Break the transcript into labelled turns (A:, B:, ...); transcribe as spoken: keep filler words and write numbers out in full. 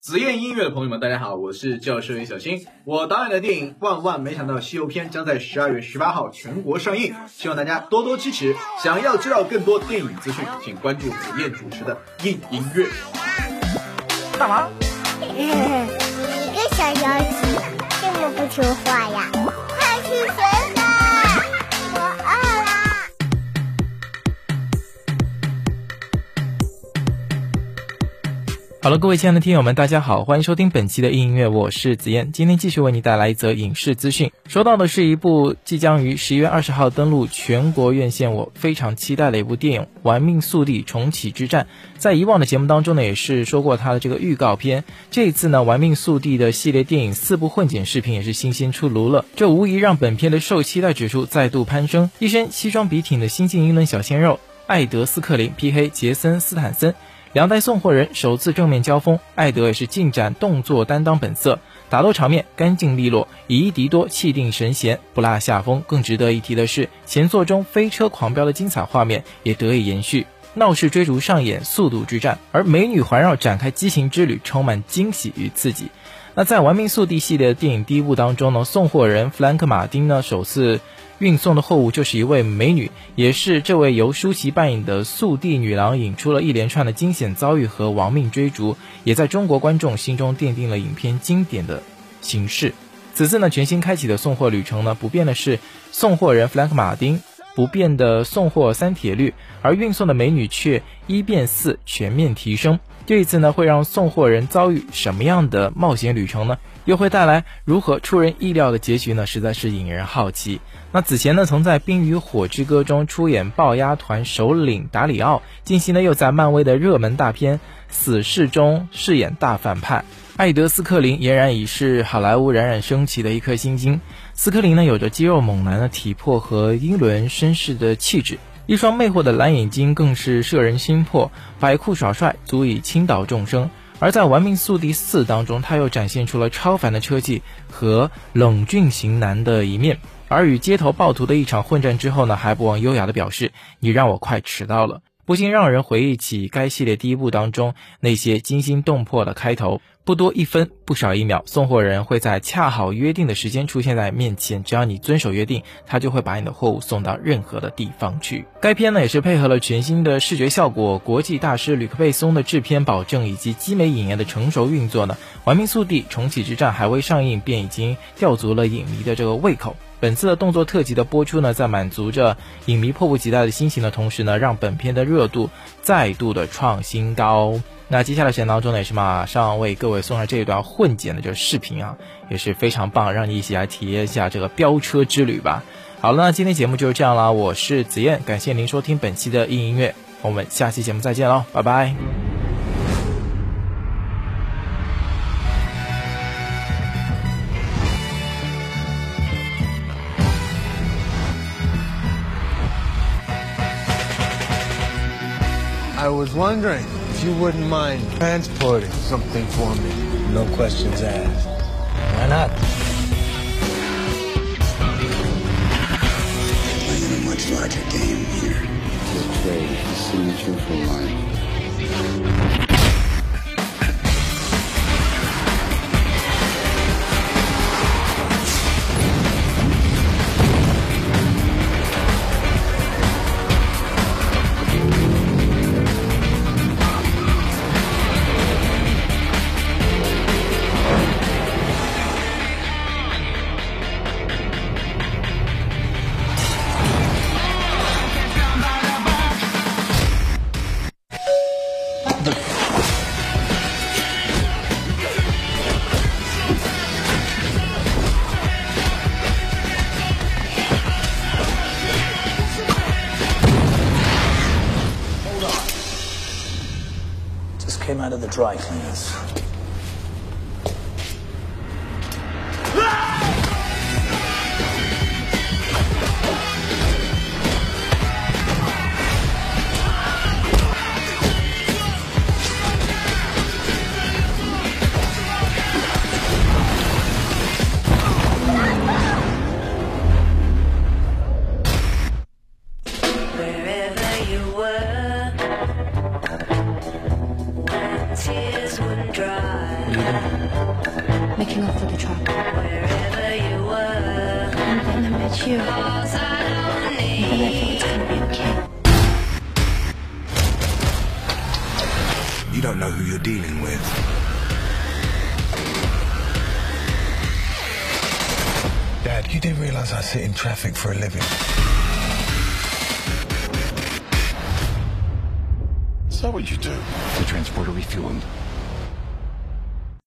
A: 紫燕音乐的朋友们，大家好，我是教授小新。我导演的电影《万万没想到西游篇》将在十二月十八号全国上映，希望大家多多支持。想要知道更多电影资讯，请关注紫燕主持的硬音乐。
B: 干嘛？
C: 你个小妖精，这么不听话呀？快去水吧，我饿了。
B: 好了，各位亲爱的听友们，大家好，欢迎收听本期的硬音乐，我是子燕。今天继续为你带来一则影视资讯，说到的是一部即将于十一月二十号登陆全国院线，我非常期待的一部电影《玩命速递重启之战》。在以往的节目当中呢，也是说过它的这个预告片。这一次呢，《玩命速递》的系列电影四部混剪视频也是新鲜出炉了，这无疑让本片的受期待指数再度攀升。一身西装笔挺的新晋英伦小鲜肉艾德斯克林 P K 杰森斯坦森，两代送货人首次正面交锋，艾德也是尽展动作担当本色，打斗场面干净利落，以一敌多，气定神闲，不落下风。更值得一提的是，前作中飞车狂飙的精彩画面也得以延续，闹市追逐上演速度之战，而美女环绕展开激情之旅，充满惊喜与刺激。那在《玩命速递》系列的电影第一部当中呢，送货人弗兰克·马丁呢首次运送的货物就是一位美女，也是这位由舒淇扮演的速递女郎引出了一连串的惊险遭遇和亡命追逐，也在中国观众心中奠定了影片经典的形式。此次呢，全新开启的送货旅程呢，不变的是送货人弗兰克·马丁，不变的送货三铁律，而运送的美女却一变四，全面提升。这一次呢，会让送货人遭遇什么样的冒险旅程呢？又会带来如何出人意料的结局呢？实在是引人好奇。那此前呢，曾在《冰与火之歌》中出演豹鸭团首领达里奥，近期呢又在漫威的热门大片《死侍》中饰演大反派。艾德斯克林俨然已是好莱坞冉冉升起的一颗新星。斯克林呢有着肌肉猛男的体魄和英伦绅士的气质，一双魅惑的蓝眼睛更是摄人心魄，摆酷耍帅足以倾倒众生。而在《玩命速递四》当中，他又展现出了超凡的车技和冷峻型男的一面，而与街头暴徒的一场混战之后呢，还不忘优雅的表示：“你让我快迟到了。”不禁让人回忆起该系列第一部当中那些惊心动魄的开头。不多一分，不少一秒，送货人会在恰好约定的时间出现在面前，只要你遵守约定，他就会把你的货物送到任何的地方去。该片呢也是配合了全新的视觉效果、国际大师吕克贝松的制片保证以及基美影业的成熟运作呢，《玩命速递重启之战》还未上映便已经吊足了影迷的这个胃口。本次的动作特辑的播出呢，在满足着影迷迫不及待的心情的同时呢，让本片的热度再度的创新高。那接下来时间当中呢，也是马上为各位送上这一段混剪的这个视频啊，也是非常棒，让你一起来体验一下这个飙车之旅吧。好了，那今天节目就是这样啦，我是子燕，感谢您收听本期的硬音乐，我们下期节目再见喽，拜拜。
D: I was wondering if you wouldn't mind transporting something for me.
E: No questions asked. Why not?
F: You're playing a much larger game here.
E: This trade is the signature for life. Came out of the dry cleaners.
G: Wherever you were, tears wouldn't dry.
E: What are you doing?
G: Making off with the truck. And then I met you. And then I thought it's gonna be okay.
D: You don't know who you're dealing with. Dad, you didn't realize I sit in traffic for a living.
E: Is that what you do? The transporter refueling.